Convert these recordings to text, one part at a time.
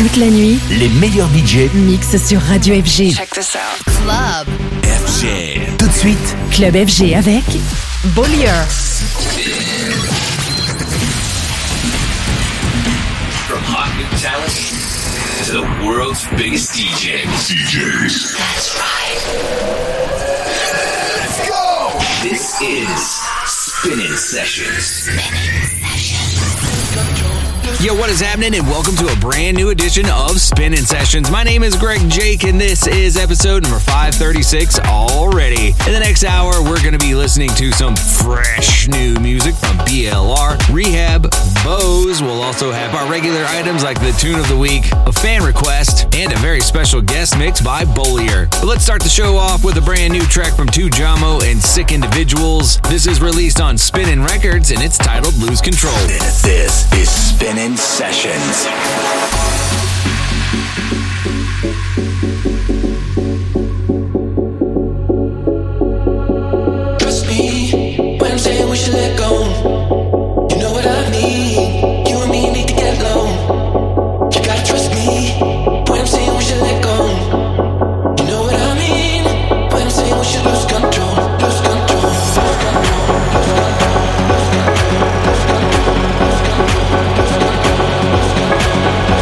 Toute la nuit, les meilleurs DJ mixent sur Radio FG. Check this out. Club FG. Tout de suite, Club FG avec Bollier. From hot new talent to the world's biggest DJs. That's right. Let's go! This is Spinning Sessions. Yo, what is happening? And welcome to a brand new edition of Spinning Sessions. My name is Greg Jake, and this is episode number 536 already. In the next hour, we're going to be listening to some fresh new music from BLR, Rehab, Bose. We'll also have our regular items like the tune of the week, a fan request, and a very special guest mix by Bollier. But let's start the show off with a brand new track from Tujamo and Sick Individuals. This is released on Spinnin' Records, and it's titled Lose Control. this is Spinning Sessions. Trust me when I'm saying we should let go. You know what I mean. You and me need to get low. You gotta trust me when I'm saying we should let go. You know what I mean when I'm saying we should lose control. Lose control. Lose control. Lose control. Lose control. Lose control. Lose control.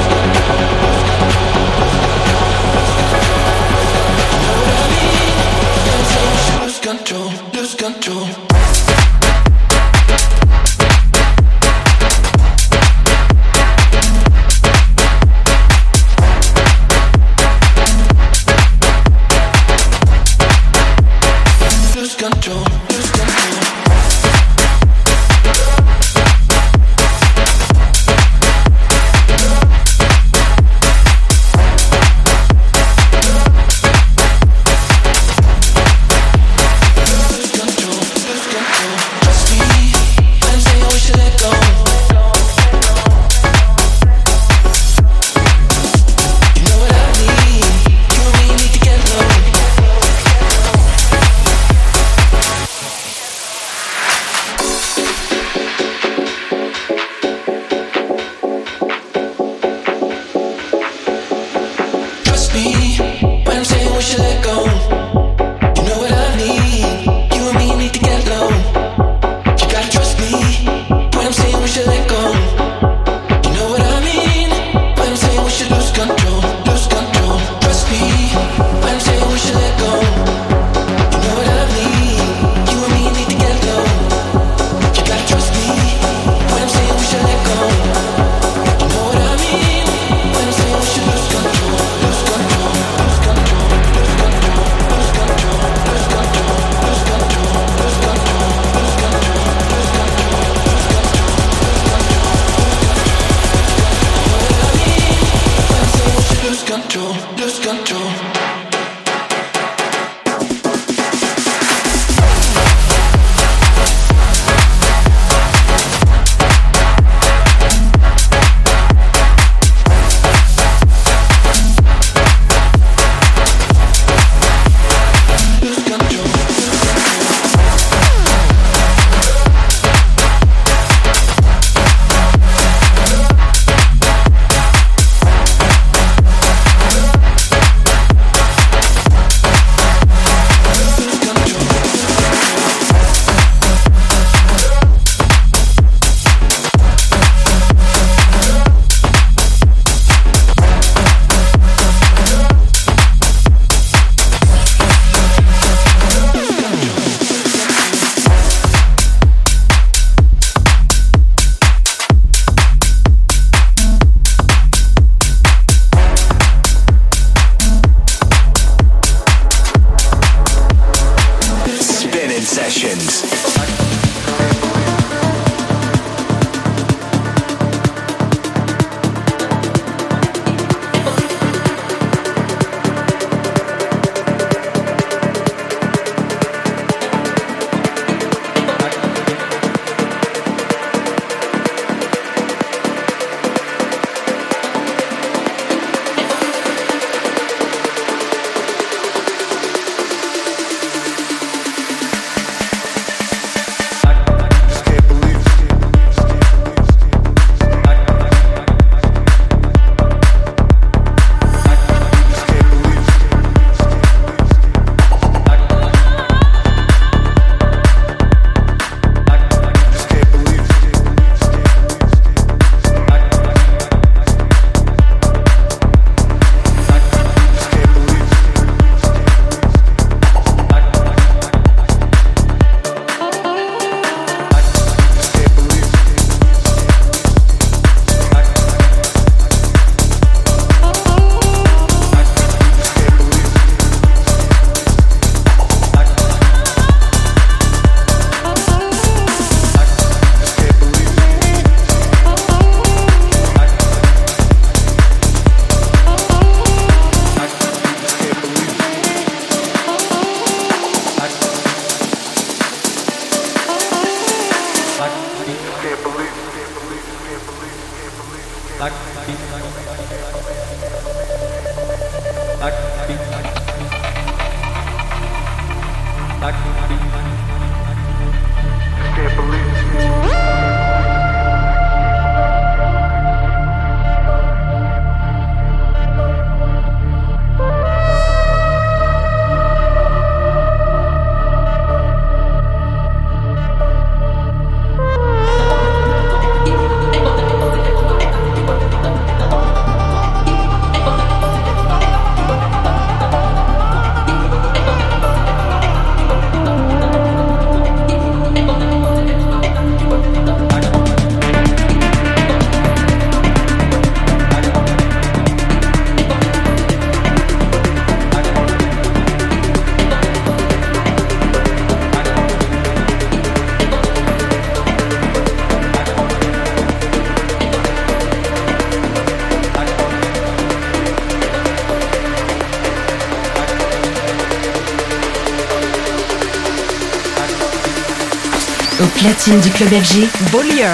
Au platine du club FG, Bollier.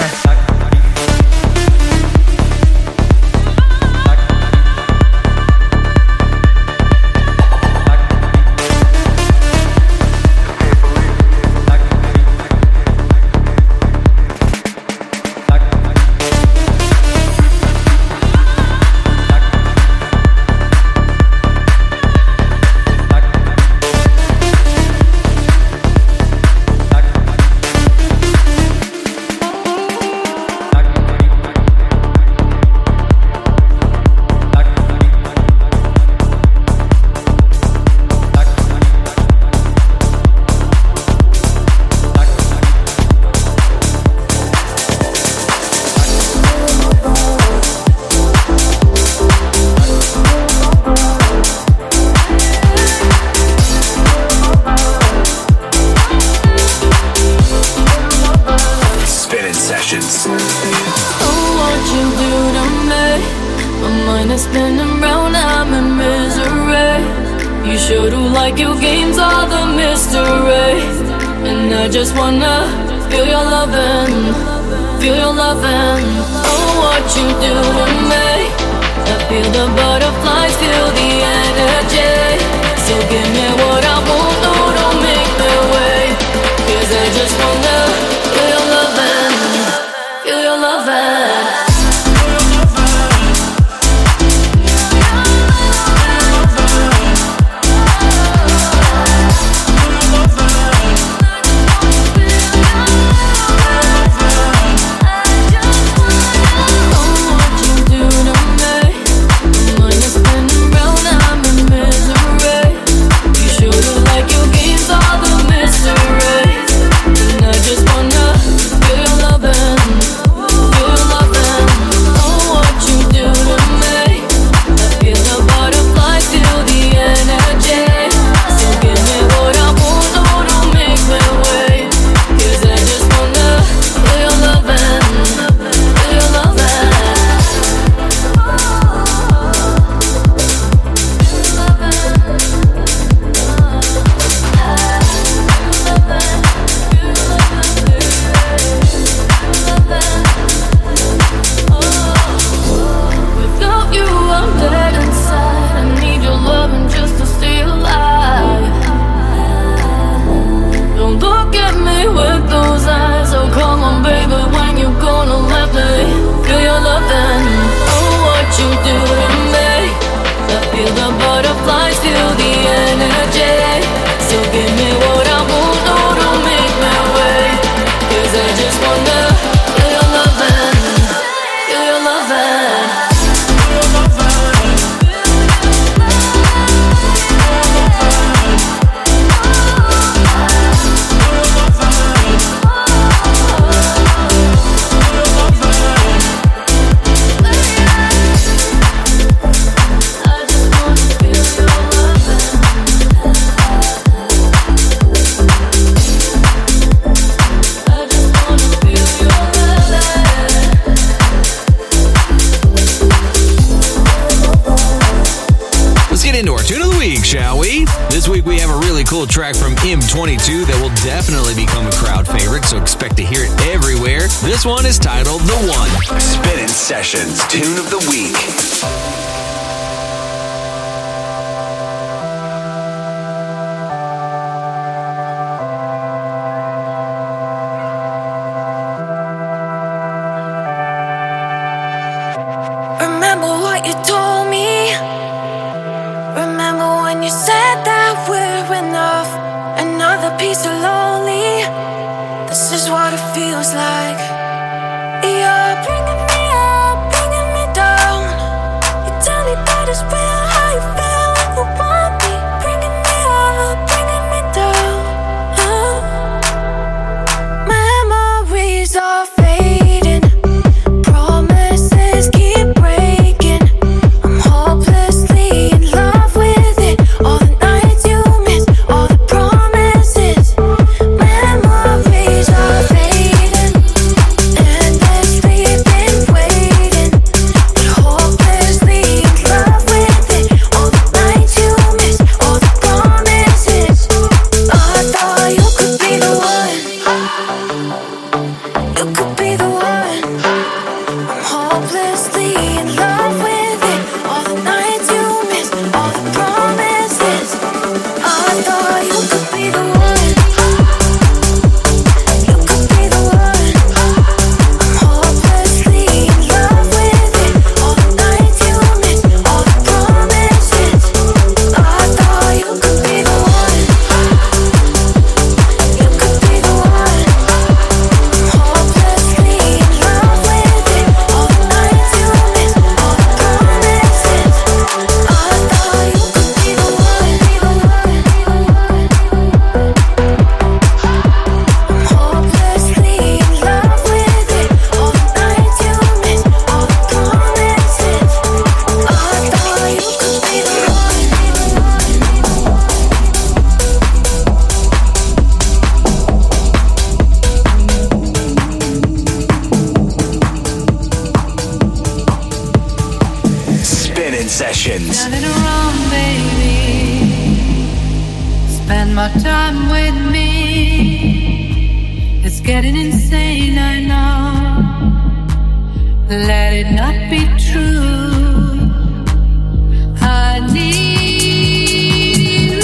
Oh, what you into our tune of the week, shall we? This week we have a really cool track from M22 that will definitely become a crowd favorite, so expect to hear it everywhere. This one is titled The One. Spinning Sessions Tune of the Week. Remember what you told me. Remember when you said that we're enough. Another piece of lonely. This is what it feels like. You're bringing me up, bringing me down. You tell me that it's real, how you feel when you want me. Bringing me up, bringing me down. Memories are fading. Promises keep breaking. I'm hopelessly in love with it. All the nights you miss, all the promises. Memories are fading. Endlessly been waiting, but hopelessly in love with it. All the nights you miss, all the promises. I thought you could be the one. You could be the one. I'm hopelessly in love with it. All the nights you miss, all the promises. I thought you could be the one. You could be the one. I'm hopelessly in love with it. All the nights you miss, all the promises. I thought you could be the one. You could be the one. I'm hopelessly in love with it. All the nights you miss, all the promises. I thought you could be the one. I'm hopelessly in love with it. All the nights you miss, all the promises. I thought you could be the Spinning Sessions. Turn it around, baby. Spend more time with me. It's getting insane, I know. Let it not be true. I need you.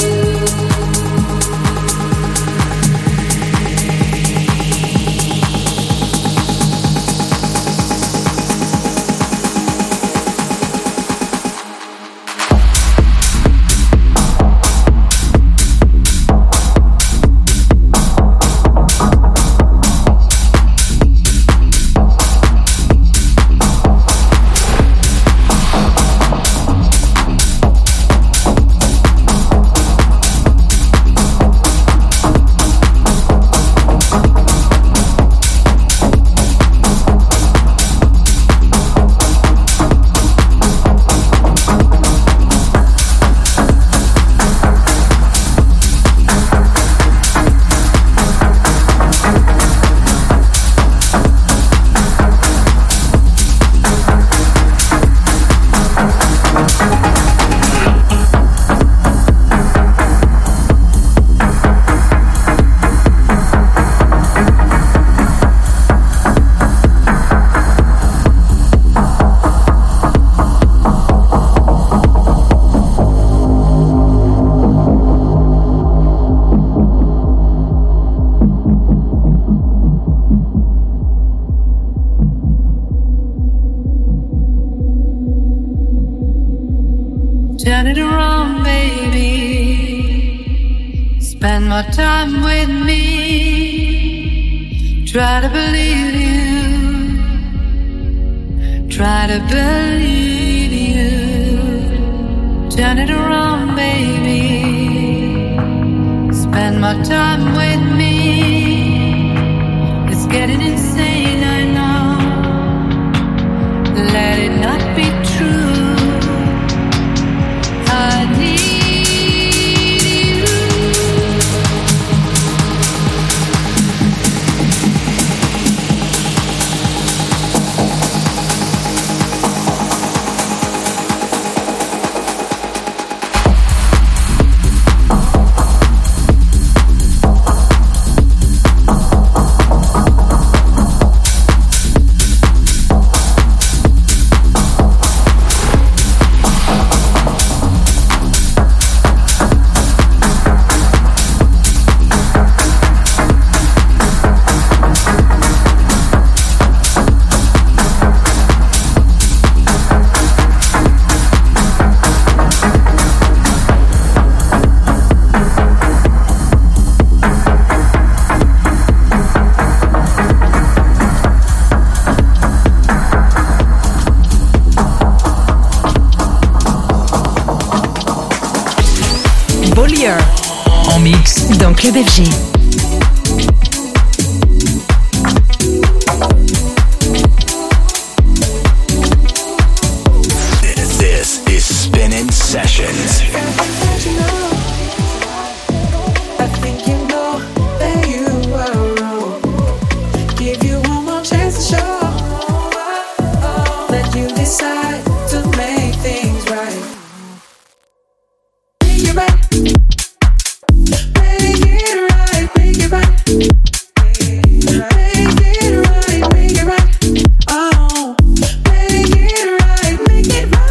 Turn it around, baby. Spend more time with me. Try to believe you. Try to believe you. Turn it around, baby. Spend more time with me. It's getting insane, I know. Let it not be true. I need you. Bollier. En mix dans Club FG. This is Spinning Sessions. I think you know that you were wrong. Give you one more chance to show that you decide to make things right. Make it right. Make it right. Make it right. Make it right. Make it right. Oh, make it right. Make it right.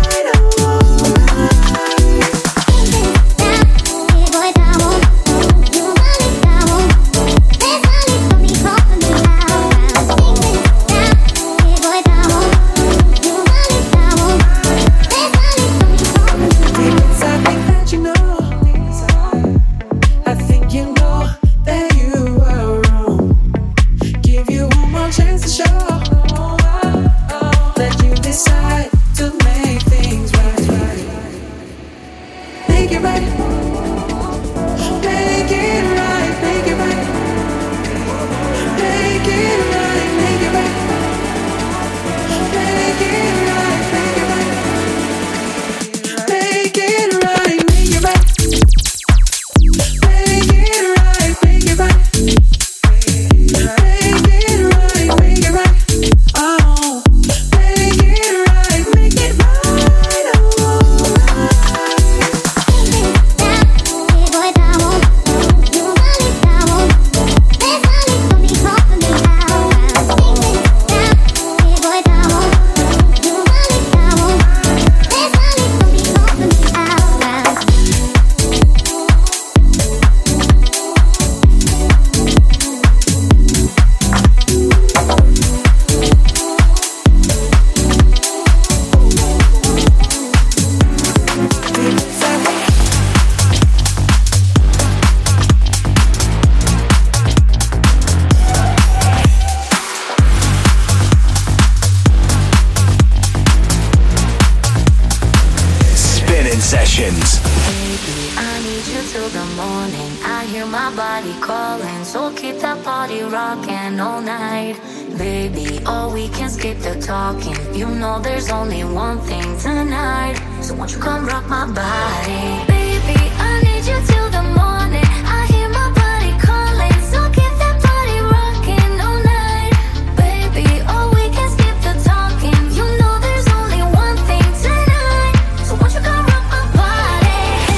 Sessions. Baby, I need you till the morning. I hear my body calling, so keep that body rocking all night. Baby, oh, we can skip the talking. You know there's only one thing tonight, so won't you come rock my body? Baby, I need you till the morning. I hear my body calling, so keep that body rocking all night. Baby, oh, we can skip the talking. You know there's only one thing tonight, so won't you come rock my body?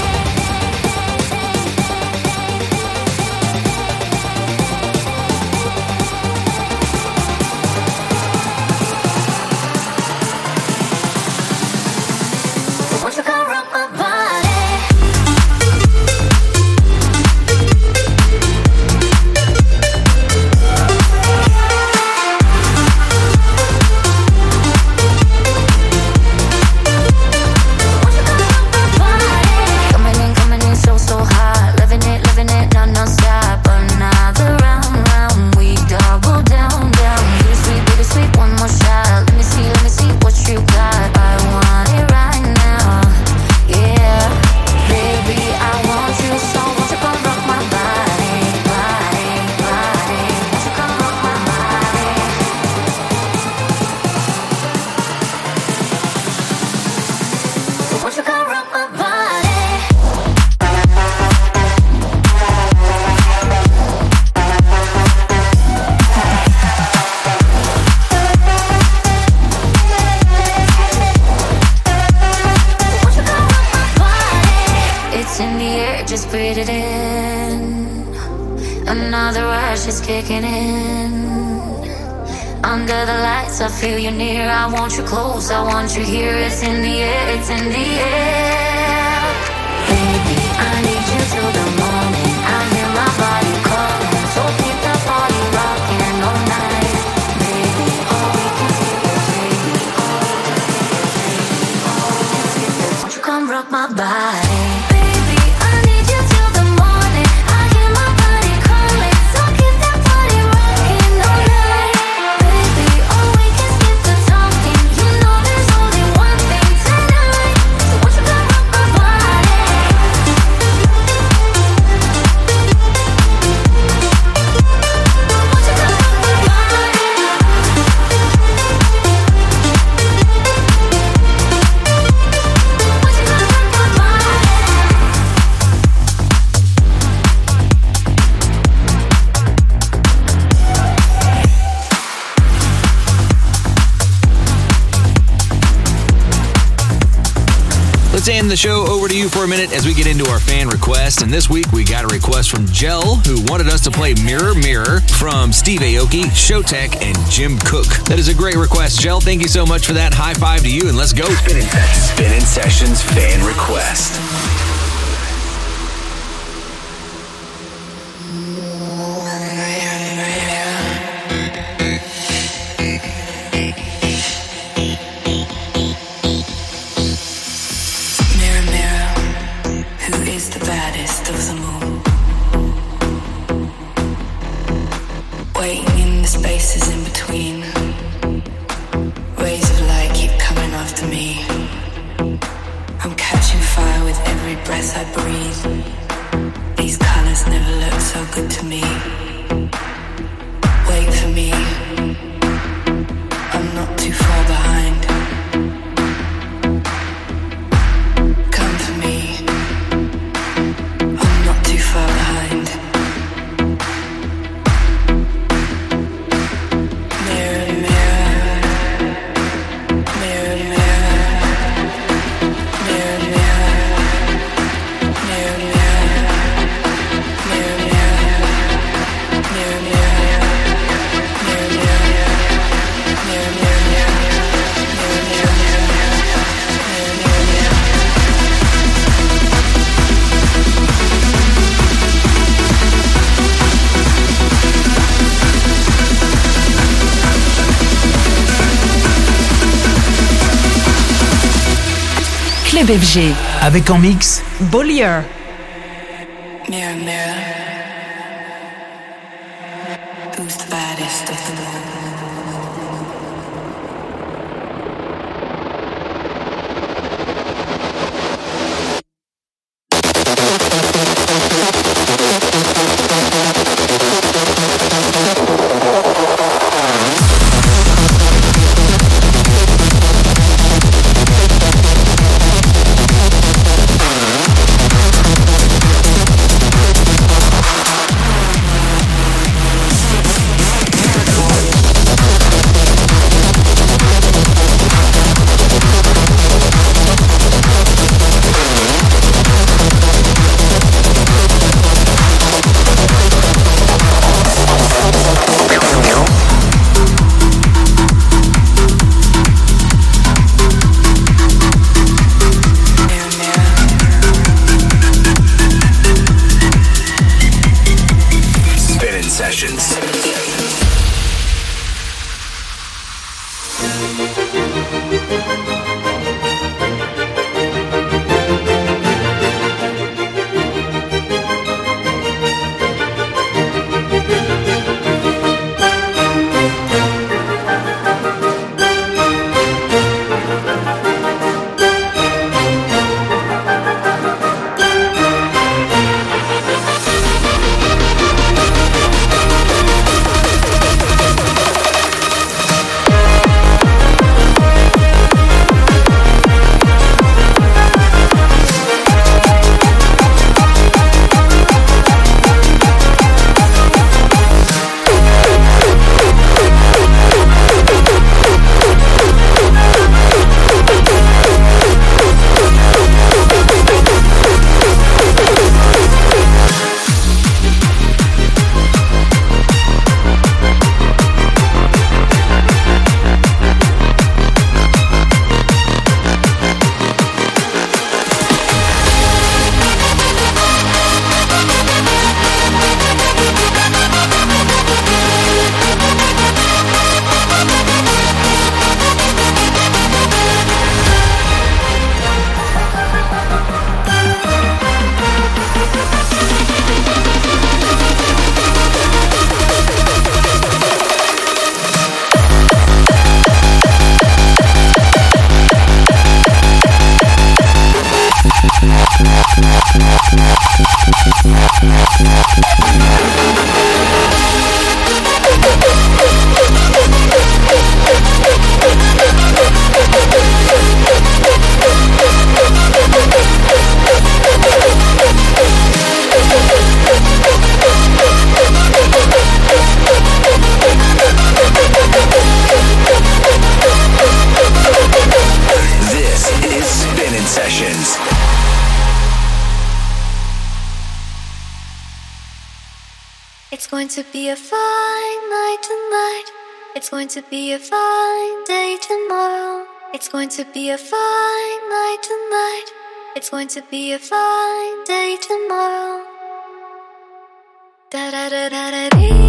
So won't you come rock my body? Coming in so hot, living it, non-stop. Another round, we double down. Bittersweet, one more shot. Let me see what you got. I want it right now, yeah. Baby, I want you, so won't you come rock my body? Won't you come rock my body? So won't you come rock my body? It's in the air, just breathe it in. Another rush is kicking in. Under the lights, I feel you near. I want you close, I want you here. It's in the air, it's in the air. Baby, I need you till the morning. I hear my body calling, so keep that body rocking all night. Baby, all we can skip is baby. Won't you come rock my body? Baby, I need you till the morning. I hear my body calling, so keep that body rocking all night. Baby, oh, we can skip the talking. You know there's only one thing tonight, so won't you come rock my body? Let's hand the show over to you for a minute as we get into our fan request. And this week we got a request from Jell, who wanted us to play Mirror Mirror from Steve Aoki, Showtek, and Jim Cook. That is a great request, Jell. Thank you so much for that. High five to you, and let's go. Spinning Sessions fan request. Spaces in between, rays of light keep coming after me. I'm catching fire with every breath I breathe. These colors never look so good to me. Wait for me, I'm not too far behind. Come for me, I'm not too far behind. Club FG. Avec en mix Bollier. Mirror, mirror, who's the baddest of them all? Sessions. It's going to be a fine night tonight. It's going to be a fine day tomorrow. It's going to be a fine night tonight. It's going to be a fine day tomorrow. Da da da da da dee.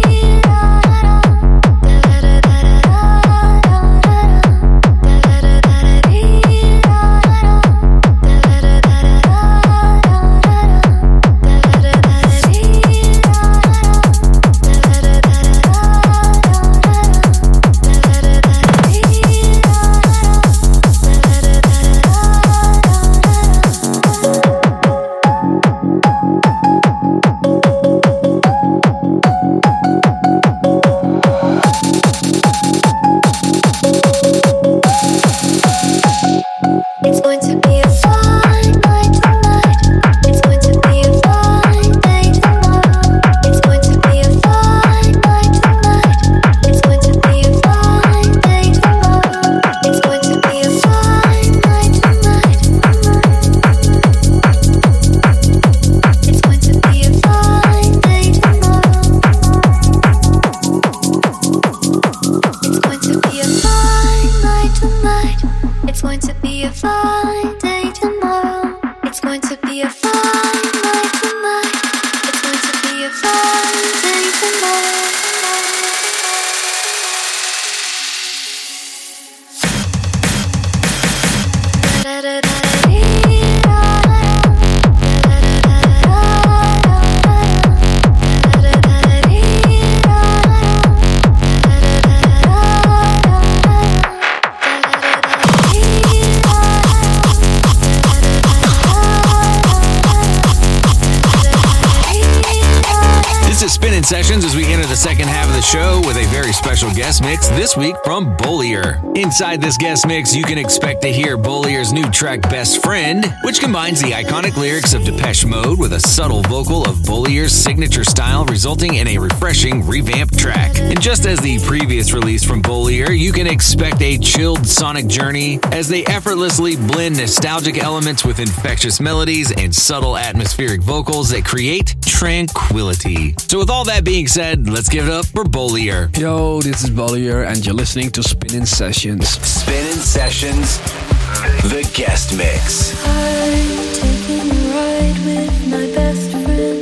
Sessions as we enter the second half of the show with a very special guest mix this week from Bollier. Inside this guest mix, you can expect to hear Bollier's new track Best Friend, which combines the iconic lyrics of Depeche Mode with a subtle vocal of Bollier's signature style, resulting in a refreshing revamped track. And just as the previous release from Bollier, you can expect a chilled sonic journey as they effortlessly blend nostalgic elements with infectious melodies and subtle atmospheric vocals that create tranquility. So with all that being said, let's give it up for Bollier. Yo, this is Bollier, and you're listening to Spinnin' Sessions. Spinnin' Sessions, the guest mix. I'm taking a ride with my best friend.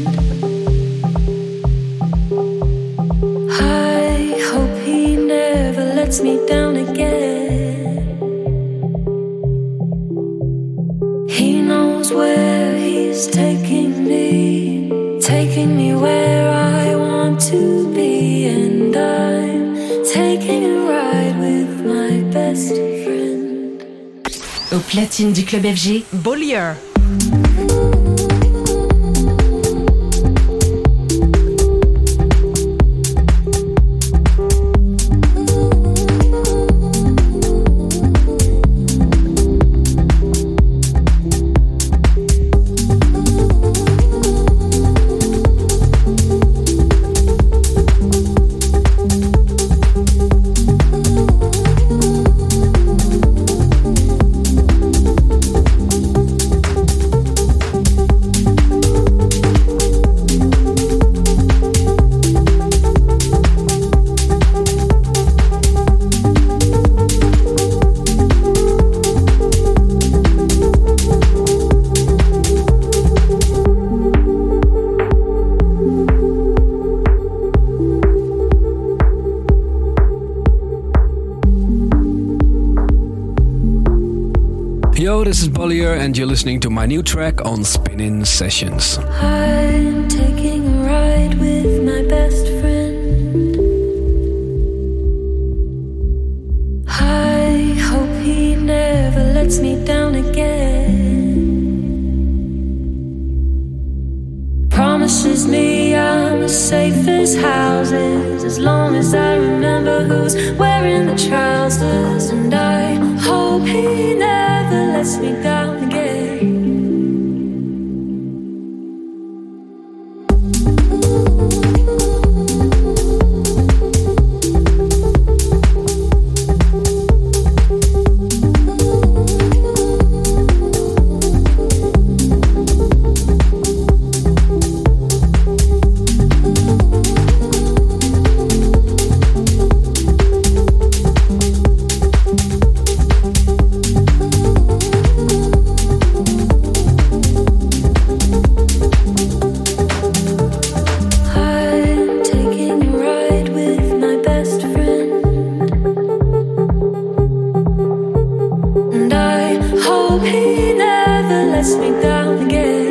I hope he never lets me down again. He knows where he's taking me where I want to be, and I'm taking a ride with my best friend. Au platine du club FG, Bollier. Yo, this is Bollier, and you're listening to my new track on Spinnin' Sessions. I'm taking a ride with my best friend. I hope he never lets me down again. Promises me I'm as safe as houses, as long as I remember who's wearing the trousers. And I hope he never lets me down again. hope he never lets me down again.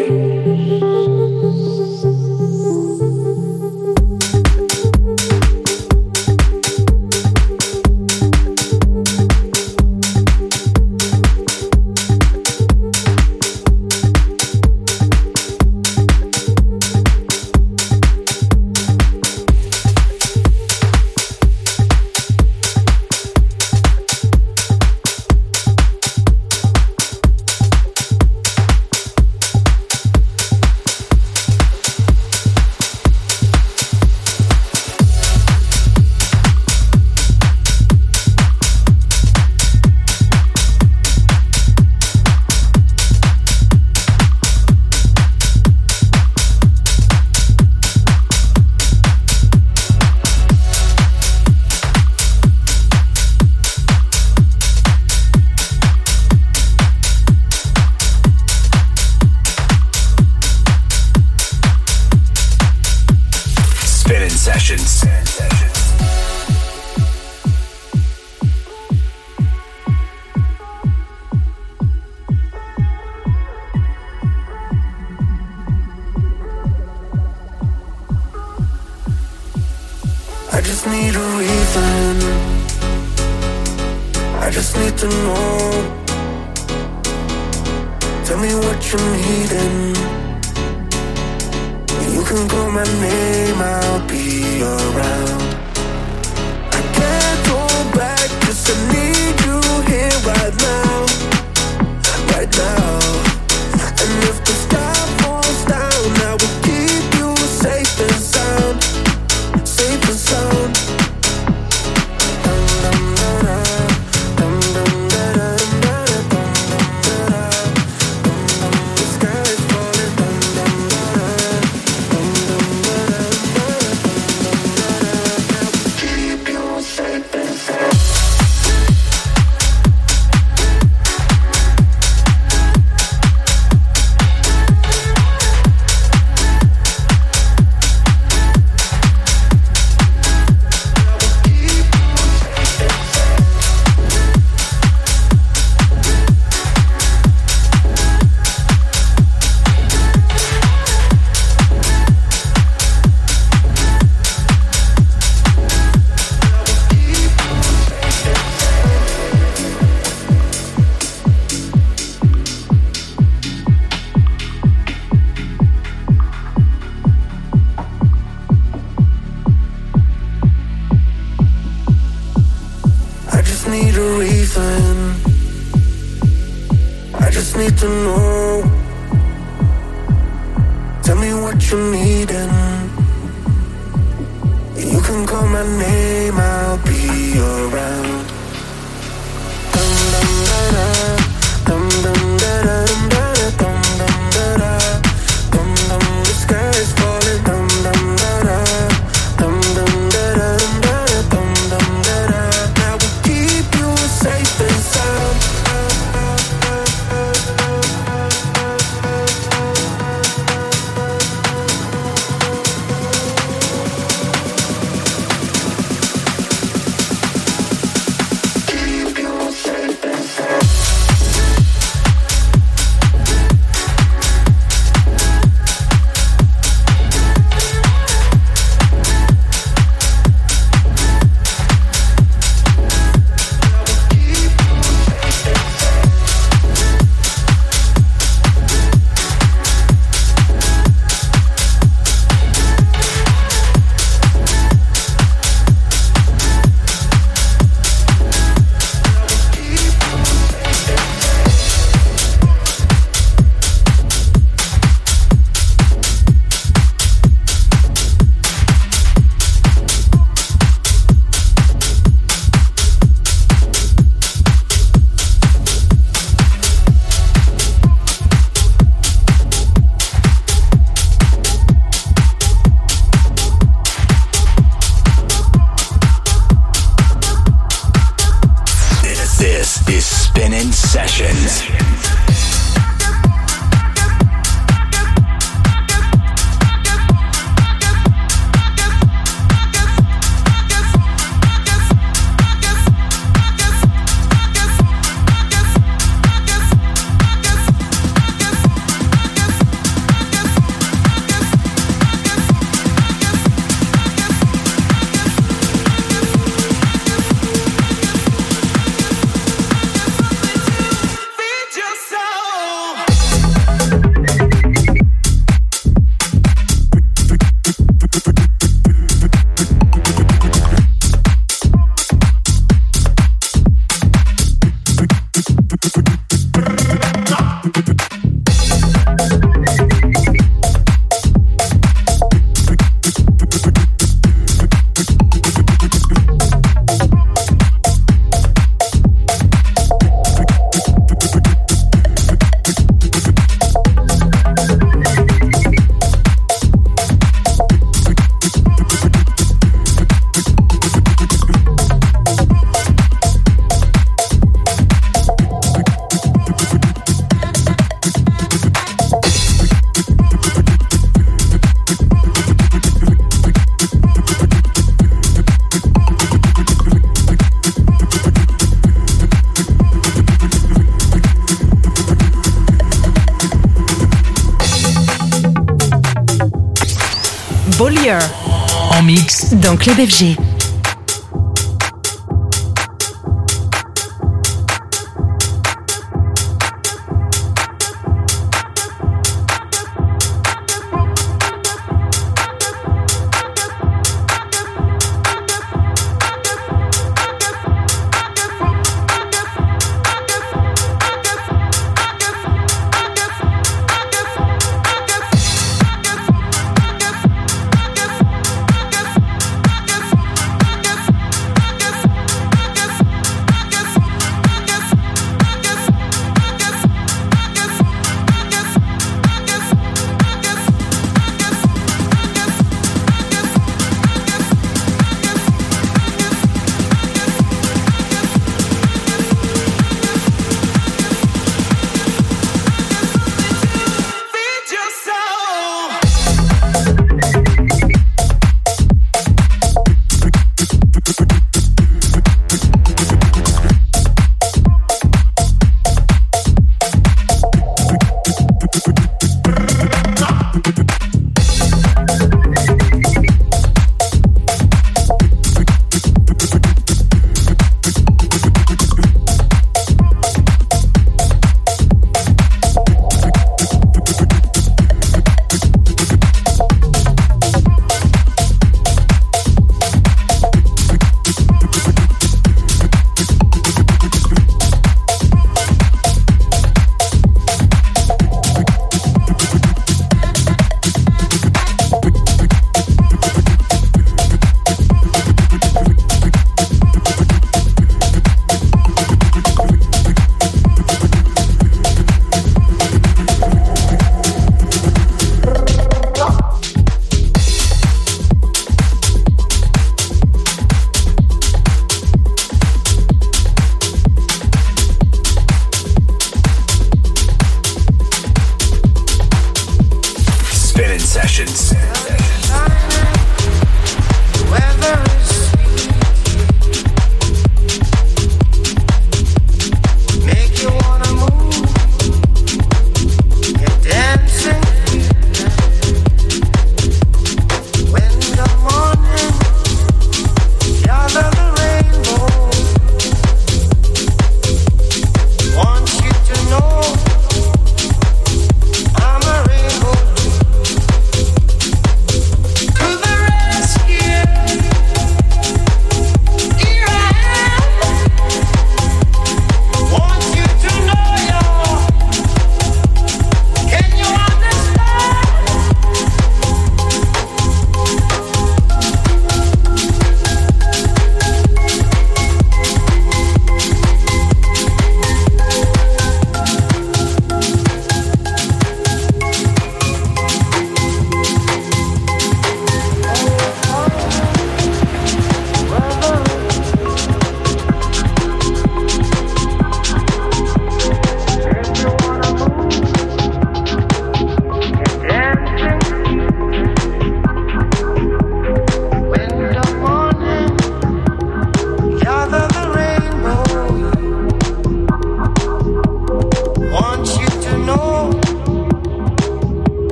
Bollier. En mix dans Club FG.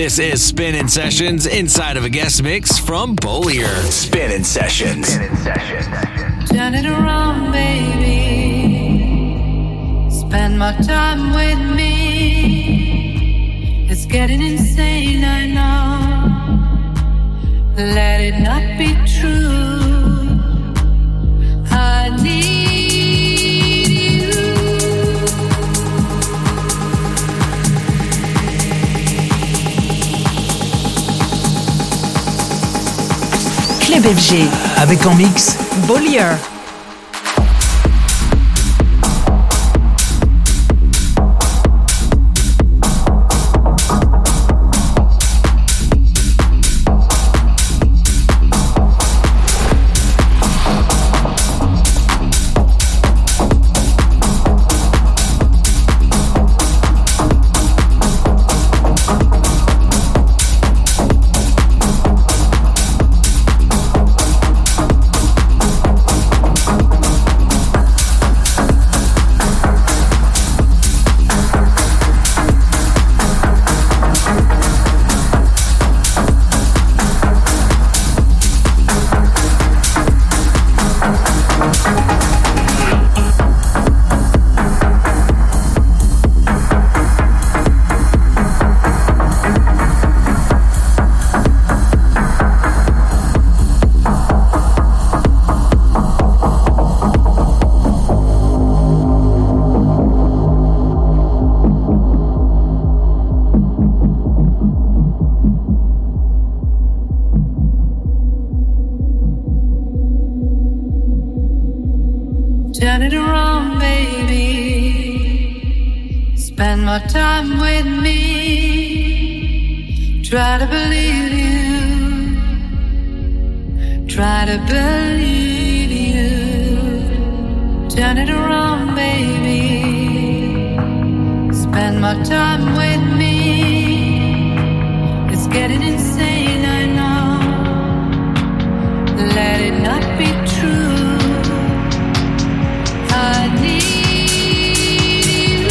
This is Spinnin' Sessions inside of a guest mix from Bollier. Spinnin' Sessions. Turn it around, baby. Spend more time with me. It's getting insane, I know. Let it not be true. I need you. Club FG. Avec en mix Bollier. Turn it around, baby. Spend more time with me. Try to believe you. Try to believe you. Turn it around, baby. Spend more time with me. It's getting insane, I know. Let it not be true. I need you.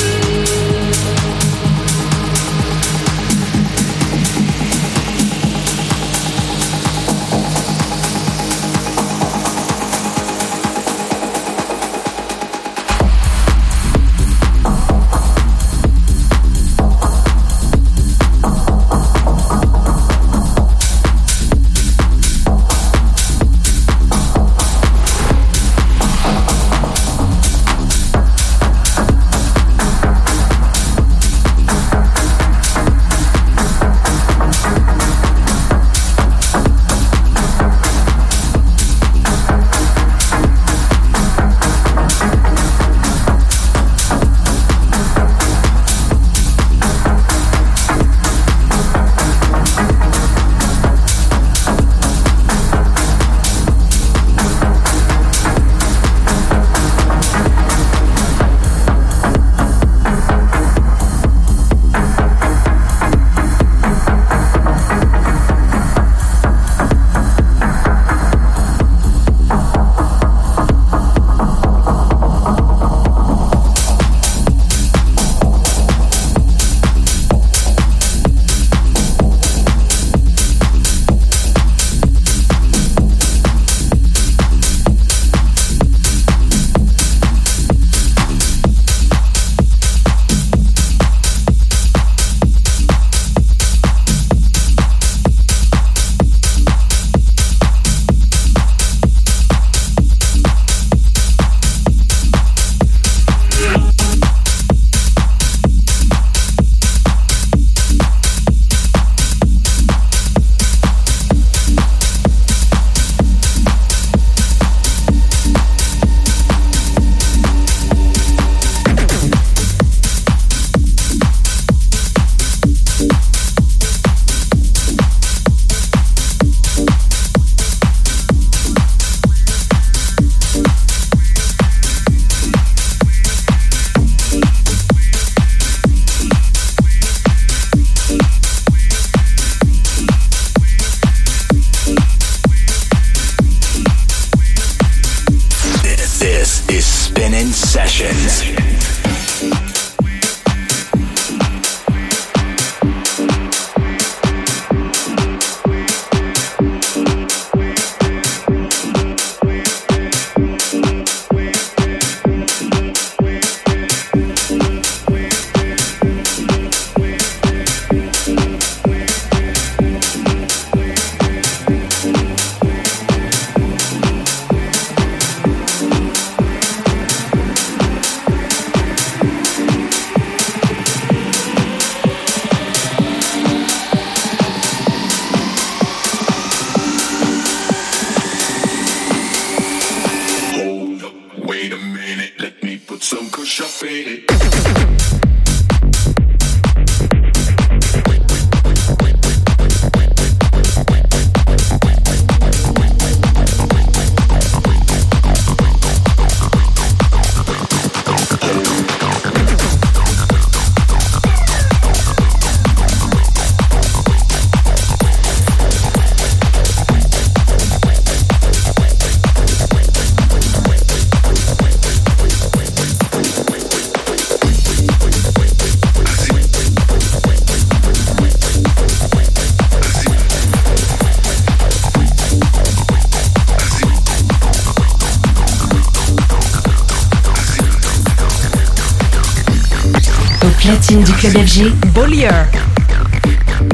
Platine du club FG, Bollier.